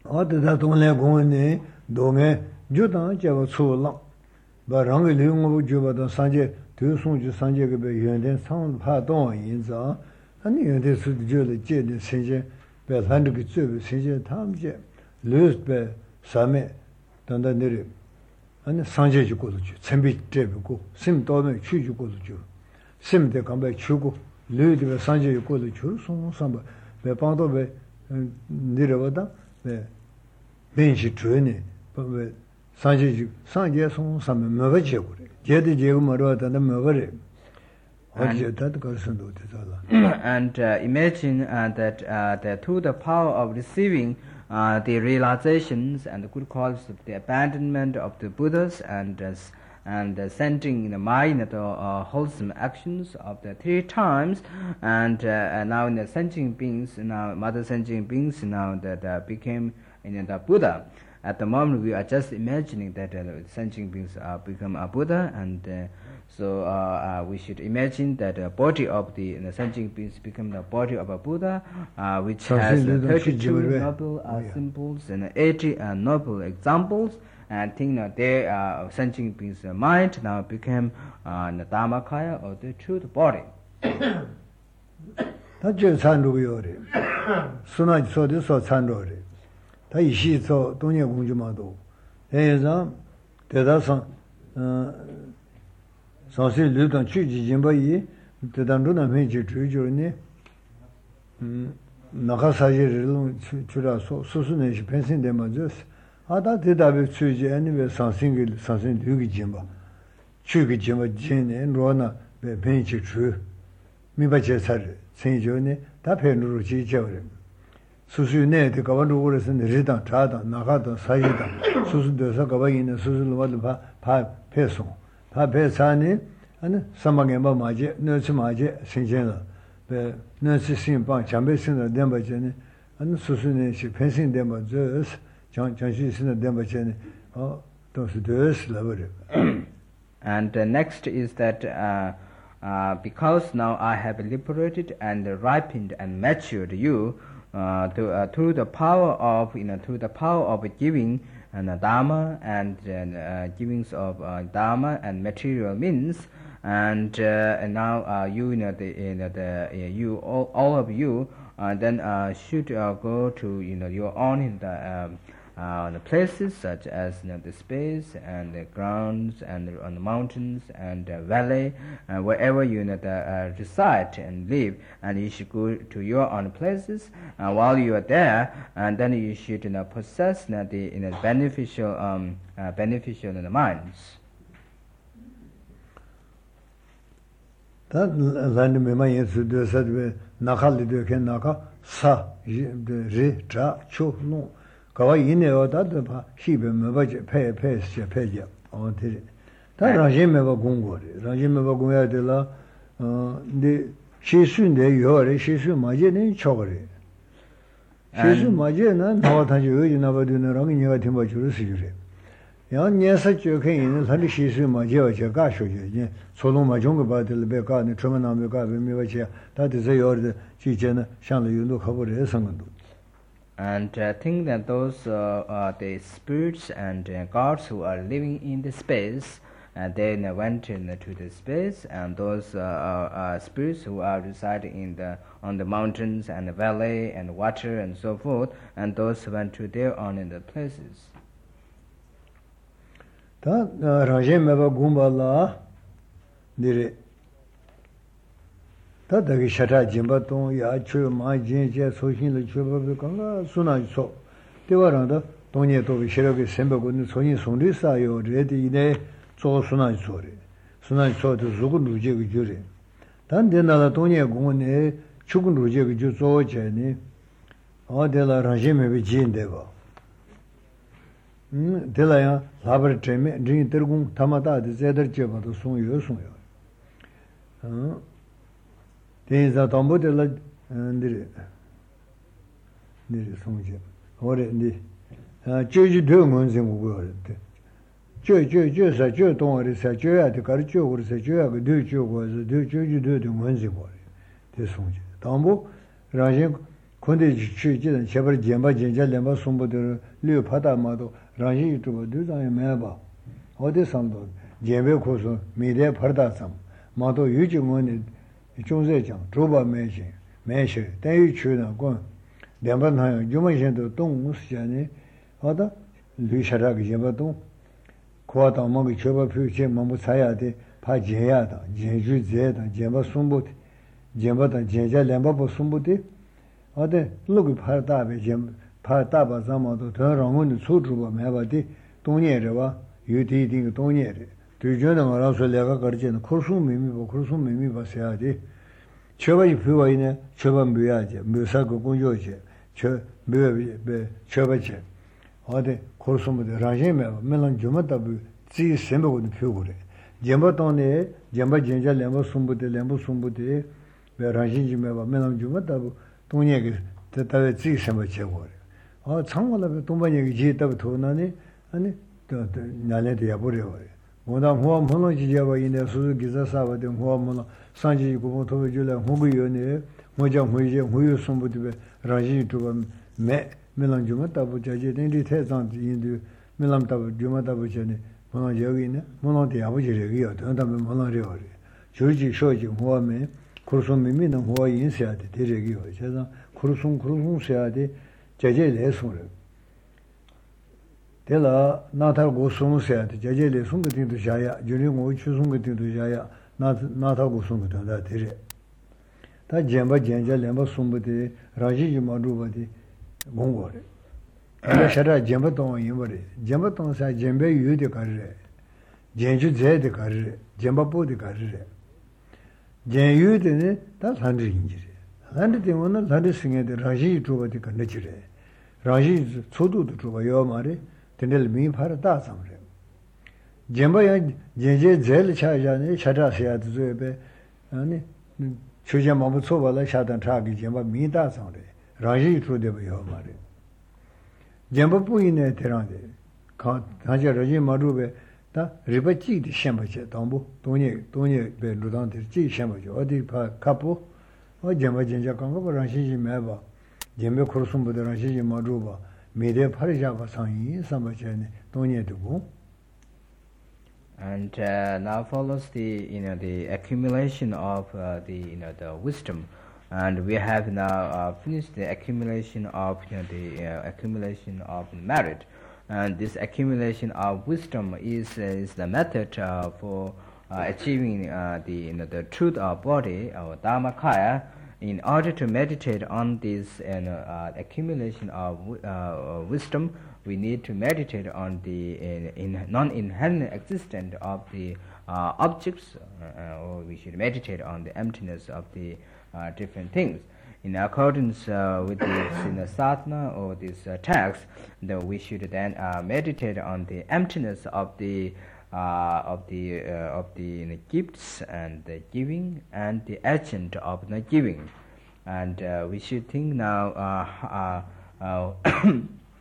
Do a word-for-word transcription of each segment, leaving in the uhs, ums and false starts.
어디다 돈내 공원에 동에 주당 제가 초랑 바랑을 리용하고 줘봐도 산제 대송주 산제가 배 연된 상 파동 인자 아니 연대 수도 저를 제대 생제 배 한국이 저 생제 탐제 르스배 삼에 단단 내리 아니 산제 주고도 줘 쳔비 제고 심 도면 취 주고도 줘 심대 감배 주고 르드배 산제 주고도 줘 송삼 배 방도 배 내려와다 배 벤시 주네 배 산제 산제 송삼에 뭐가 제고 제대 제고 말하다는 뭐가 And, and uh, imagine uh, that, uh, that through the power of receiving uh, the realizations and the good qualities of the abandonment of the Buddhas and uh, and uh, sending in the mind the uh, wholesome actions of the three times, and, uh, and now in the sentient beings, now mother sentient beings now that uh, became in you know, the Buddha. At the moment, we are just imagining that uh, sentient beings uh, become a Buddha, and uh, so uh, uh, we should imagine that the body of the, the sentient beings become the body of a Buddha, uh, which has uh, thirty-two noble uh, symbols and eighty uh, noble examples. And think that their uh, sentient beings' uh, mind now became uh, the Dharmakaya or the truth body. That's just Sandroyore. Suna so this or Sandore. Taishi so Donia Gunjumado. There is a Tedasan Sansi Lutan Chuji Jimbai, Tedanduna Major Trujurni Nakasaji Chura Susunesh, Pensin Demajas. 아다 대답을 주지 아니면 상승을 상승 되기 좀 주기 좀 전에 로나 벤치 주 미바제살 생존에 다 변으로 지져버려 수수네 그 가만으로 그래서 내리다 자다 나가다 사이다 수수돼서 가봐 있는 수수를 와도 봐 배송 다 배산이 아니 사망에 뭐 맞지 너치 맞지 생전에 배 너치 신방 잠배신의 dem바제네 아니 수수네 시 펜신 dem바제 And uh, next is that uh, uh, because now I have liberated and ripened and matured you uh, to, uh, through the power of you know through the power of giving and uh, dharma and uh, givings of uh, dharma and material means, and, uh, and now uh, you, you know the, you, know, the uh, you all, all of you uh, then uh, should uh, go to you know your own in the um, Uh, the places such as you know, the space and the grounds and the, on the mountains and the valley, uh, wherever you know, the, uh, reside and live, and you should go to your own places. Uh, while you are there, and then you should you know, possess you know, the you know, beneficial um, uh, beneficial you know, minds. That land me may to do said we nakal do can naka sa re tra chu no. 가와 이내어 다도 봐 시베 뭐지 폐 폐스 폐지 어디 다 라제메바 공고리 라제메바 공해야 되라 어네 시수인데 요래 시수 맞이는 초거리 시수 맞이는 나와 다시 여기 나버드는 내가 팀바 줄을 쓰주래 야 녀석 저게 있는 사람 시수 맞이어 제가 쇼지 소동 맞은 받을 배가는 처음에 메바지 다들 요래 지제는 상을 윤도 가버려 상관도 And I uh, think that those uh, uh, the spirits and uh, gods who are living in the space, and uh, then uh, went in, uh, to the space, and those uh, uh, spirits who are residing in the on the mountains and the valley and water and so forth, and those who went to their own in the places. Ta rajemeva gumbala dire. 다다기 샤타 짐바동 야초 마진제 소신을 줘버고 건가 순아서 대화랑도 동네도 시력이 sembe고는 손이 손이 쌓여 레디네 조순아 소리 순아 소도 죽은 루제가 줄이 단데나라 동네 공원에 죽은 루제가 줄 조제니 어데라 라제메비 진데고 음 데라야 라버트레메 진 들공 타마다 제더 제바도 송요 송요 어 대자 담보들라 ndiri ndiri 송제 오래 ndi 아 저지 되면 좀 그거래 저저저서 저 동아리서 저야 돼 가르쳐 그래서 저야 그 되죠 그래서 되죠지 되도 뭔지 뭐래 대 송제 담보 라제 근데 취지는 제발 제발 진짜 lemba 송보들 류 파다마도 라지 유튜브 두장에 매봐 어디 삼도 제베 고소 미래 파다삼 마도 유지원이 중세장 조바 매시 매시 대유 추나 권 lemba 유만신도 동무시잖니 어다 류샤라기 제바도 고아다 먹이 제바 표제 뭐뭐 사야 돼 파제야다 제주 제다 제바 송보 제바다 제자 lemba 송보디 어데 로그 파다베 jem 파다바 자마도 더 랑은 소주바 매바디 동네르와 유디딩 동네르 뒤전은 알아서 내가 거르지는 코수 미미고 코수 미미 봐야지 저바이 표와이네 저반 묘야지 묘사고 공요지 저 묘베 저바지 어데 코수무데 라제메 멜란 좀다부 지 셈보고 표고래 젬바톤네 젬바 진짜 렘보 숨부데 렘보 숨부데 왜 라진지메바 멜란 좀다부 동네게 대다에 지 셈보 제고래 어 창원에 동반역이 지다부 도나니 아니 또 나래도 야버려요 뭐다 뭐 뭐는 지자바 이네 수수 기자 사바데 뭐 뭐는 산지 고모 도주래 호부요네 뭐자 뭐제 뭐요 숨부데 라진 두번 매 멜란 좀다부 자제 된디 태산 인도 멜란 다부 좀다부 전에 뭐는 여기네 뭐는 야버지래요 더다면 뭐는래요 조지 쇼지 뭐면 kursum mimi na huwa yin siya de de regi ho cheza kursum kursum siya de jaje le sung re de la na ta go sung siya de jaje le sung ge du jaya juri ngo chu sung ge du jaya na na ta go sung ge da de re ta jemba jenja lemba sung de raji ji ma ru ba de gong go re ala shara jemba tong yin ba re jemba tong sa jembe yu de kar re jenju je de kar re jemba po de kar re 제유드네 다 산드인지래 산드 때문에 산드 승에데 라지 주바디 간다지래 라지 소도도 주바요 말에 된들 미파라 다 삼래 젬바야 제제 제일 차자네 차자셔야도 저베 아니 초제 마부 초발라 샤단 차기 젬바 미다 삼래 라지 주데버요 말에 젬바 부인에 대란데 가 가자 라지 마루베 다 리버치디 셴바체 담보 돈이 돈이 베 루단데 지 셴바체 어디 파 카포 어 제마 진짜 간거 버랑시지 매바 제메 코르숨보다 랑시지 마루바 메데 파리자바 상이 삼바체네 돈이 두고 and uh, now follows the you know the accumulation of uh, the you know the wisdom and we have now uh, finished the accumulation of you know the uh, accumulation of merit. And this accumulation of wisdom is uh, is the method uh, for uh, achieving uh, the you know, the truth of body or dharmakaya. In order to meditate on this you know, uh, accumulation of uh, wisdom, we need to meditate on the uh, in non-inherent existence of the uh, objects, uh, or we should meditate on the emptiness of the uh, different things. In accordance uh, with this you know, sadhana or this uh, text, then we should then uh, meditate on the emptiness of the uh, of the uh, of the you know, gifts and the giving and the agent of the giving, and uh, we should think now uh, uh, uh,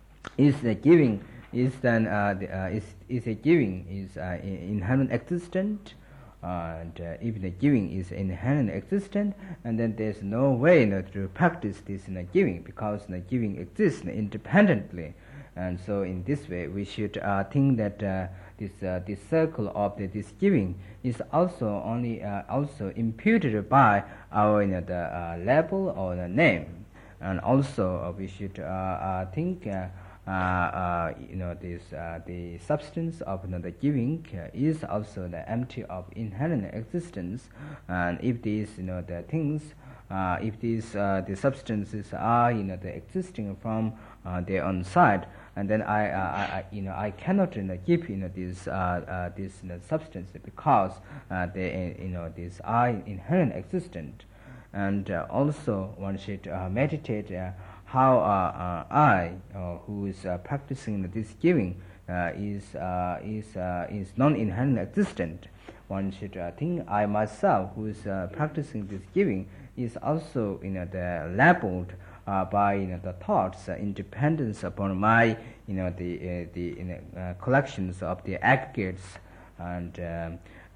is the giving is then uh, the, uh, is is a giving is uh, inherent existent. Uh, and uh, if the giving is inherent existent, and then there's no way you know, to practice this in you know, giving, because you know, giving exists you know, independently, and so in this way we should uh, think that uh, this uh, this circle of the, this giving is also only uh, also imputed by our you know, the uh, label or the name, and also uh, we should uh, uh, think. Uh, Uh, uh, you know this uh, the substance of you know, the giving uh, is also the empty of inherent existence, and if these you know the things uh, if these uh, the substances are you know the existing from uh, their own side, and then I, uh, I you know I cannot you know, give you know this uh, uh, this you know, substance because uh, they you know these are inherent existent, and uh, also one should uh, meditate. Uh, how uh, uh, I, uh, who is uh, practicing this giving, uh, is uh, is uh, is non-inherent existent. One should uh, think I myself, who is uh, practicing this giving, is also you know the labeled uh, by you know the thoughts, uh, independence upon my you know the uh, the you know, uh, collections of the aggregates, and um,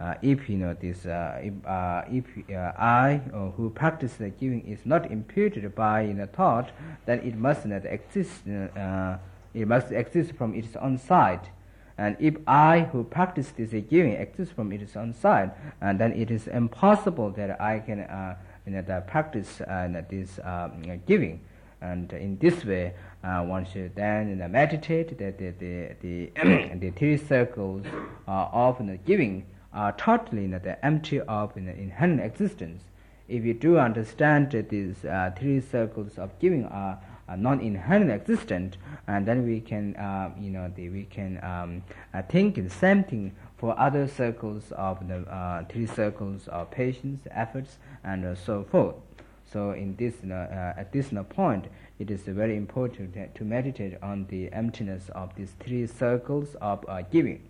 uh, if you know this, uh, if, uh, if uh, I uh, who practice the giving is not imputed by you know, thought, then it must not exist. Uh, it must exist from its own side. And if I who practice this giving exists from its own side, and then it is impossible that I can uh, you know, the practice uh, this uh, giving. And in this way, uh, one should then you know, meditate that the the the, the three circles uh, of you know, giving are totally you know, the empty of you know, inherent existence. If you do understand that these uh, three circles of giving are, are non-inherent existent, and then we can uh, you know the, we can um, uh, think the same thing for other circles of the uh, three circles of patience, efforts, and uh, so forth. So in this, uh, uh, at this uh, point, it is uh, very important to, to meditate on the emptiness of these three circles of uh, giving.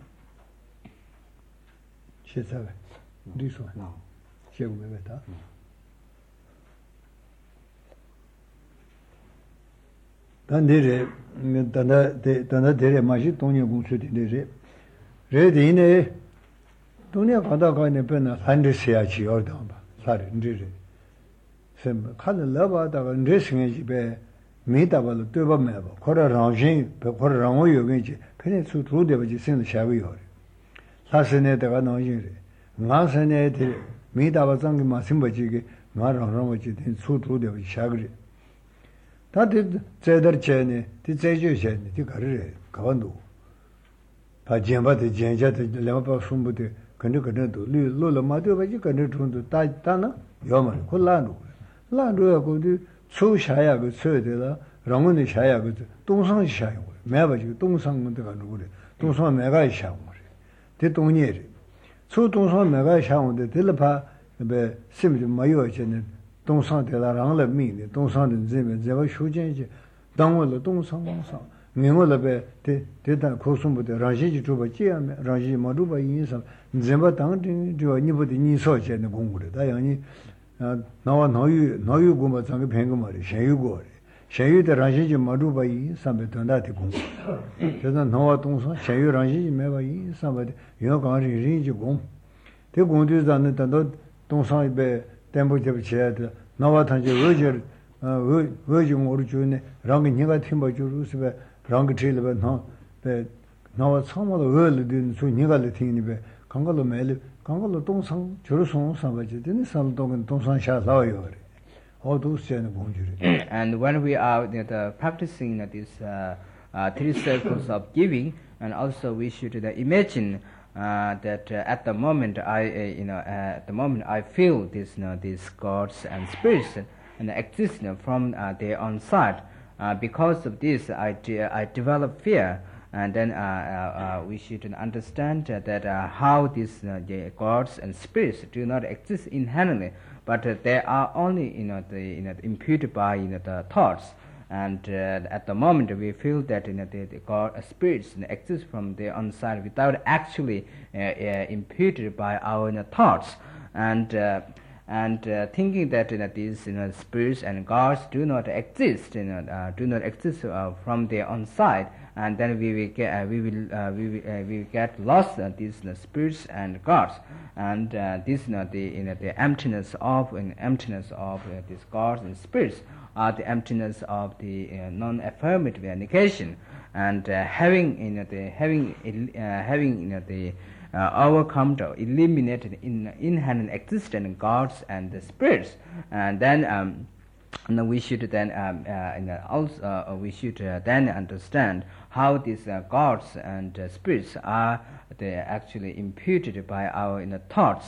This one. No. Dandere, danda de danda dere maji tonya gungsu de re dine tonya kada ka ne pena sande sia chi orda ba sare ndire sem khala laba da ndre singe ji be me da ba lo twe ba me ba khora rangin be khora rango yo ge ji phene su tru de ba ji sin sha bi yo re sa sene da ga no yin re nga sene de me da ba sang ma sim ba ji ge nga rang rang ba ji de su tru de ba sha ge 다들 제대로 전에 뒤제주 전에 뒤 가르래 가반도 바지엠바데 젠자데 레마바 숨부데 근데 근데도 루루로 마도 바지 근데 돈도 따따나 요만 콜라노 라노야 고디 수샤야 그 서에다 랑은이 샤야 그 동상 샤야 매바지 동상문데 가는 거래 동상 매가 샤고 그래 대동니에 수 동상 매가 샤고데 들바 베 심지 마요 전에 동상 대라랑을 미네 동상은 제면 제가 쇼전지 당원을 동상 방상 명월을 대 대단 고순부터 라지지 주바지야 라지 마루바 인사 제가 당은 저 니부터 니소제는 공부를 다양히 나와 너유 너유 공부 장에 뱅거 말이 셰유고 셰유의 라지지 마루바 인사에 된다티 공부 그래서 나와 동상 셰유 라지지 매바 인사에 여가리 리지 공 대공들도 않는다 너 동상에 tempo 잡지야다 나와 단지 어저 어 어중 오르주네 랑이 네가 팀바 주루스베 랑이 틀베 나베 나와 처음으로 얼든 수 네가 레팅이베 강가로 매일 강가로 동상 저르송 사바지 되는 살동은 동상 샤사요 어두스에는 공주리. And when we are you know, the practicing you know, these uh, uh, three circles of giving, and also we should uh, imagine Uh, that uh, at the moment I, uh, you know, uh, at the moment I feel this, you know, these gods and spirits and exist you know, from uh, their own side. Uh, because of this, I de I develop fear, and then uh, uh, uh, we should understand uh, that uh, how these uh, the gods and spirits do not exist inherently, but uh, they are only, you know, the, you know, imputed by you know, the thoughts. And uh, at the moment we feel that you know, the, the God, uh, spirits you know, exist from their own side without actually uh, uh, imputed by our you know, thoughts, and uh, and uh, thinking that you know, these you know, spirits and gods do not exist, you know, uh, do not exist uh, from their own side, and then we will get uh, we will uh, we will, uh, we will get lost uh, these you know, spirits and gods, and uh, this you know, the you know, the emptiness of uh, emptiness of uh, these gods and spirits are the emptiness of the uh, non-affirmative negation, and uh, having you know the having uh, having you know the uh, overcome or eliminated in inherent existent gods and the spirits, and then um, and we should then um, uh, you know, also uh, we should uh, then understand how these uh, gods and uh, spirits are they actually imputed by our you know, thoughts.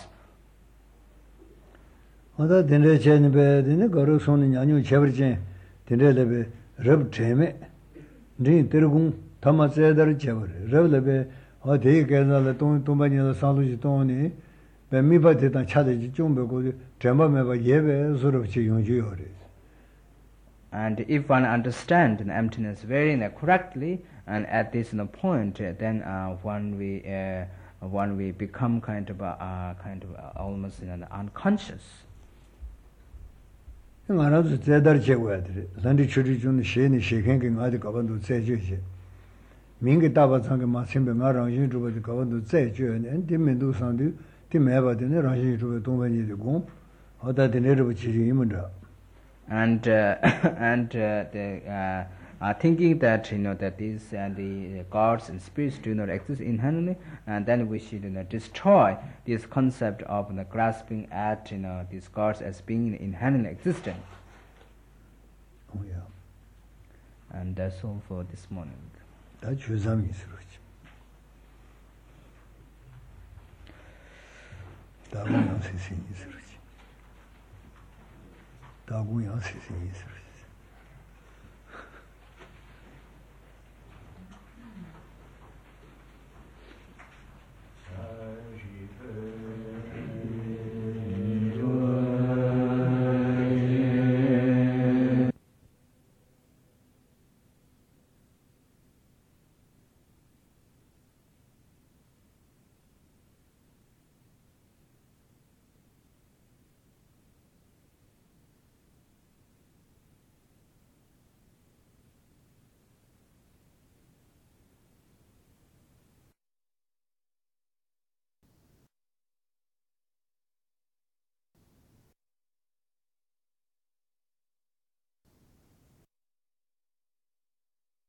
어다 된래 전에 되는 거로 손이 아니요 제버진 된래레베 럽 제메 네 들고 담아져들 제버 럽레베 어디 계산을 돈 돈반이나 살로지 돈이 배미바데다 차대지 좀 보고 제마메바 예베 서럽지 용주요래. And if one understands the emptiness very you know, correctly, and at this you know, point, uh, then uh, one we uh, one we become kind of uh, kind of uh, almost you know, unconscious. 나라도 제대로 제거해야 돼. 산디 처리 좀 시에는 시행게 가지 가반도 제주지. 민게 다바상게 마심베 나랑 인주버지 가반도 제주네. 엔디멘도 상디 ti meba de ne rashi ru dong ba ni de gong oda de ne ru chi ri yim da and uh, and uh, the uh, Uh, thinking that you know that these and uh, the gods and spirits do not exist inherently, and then we should you know, destroy this concept of you know, grasping at you know these gods as being inherently existent. Oh yeah. And that's all for this morning. That 주삼이 있으로지. 다공양 세상이 있으로지. 다공양 세상이 있으로지.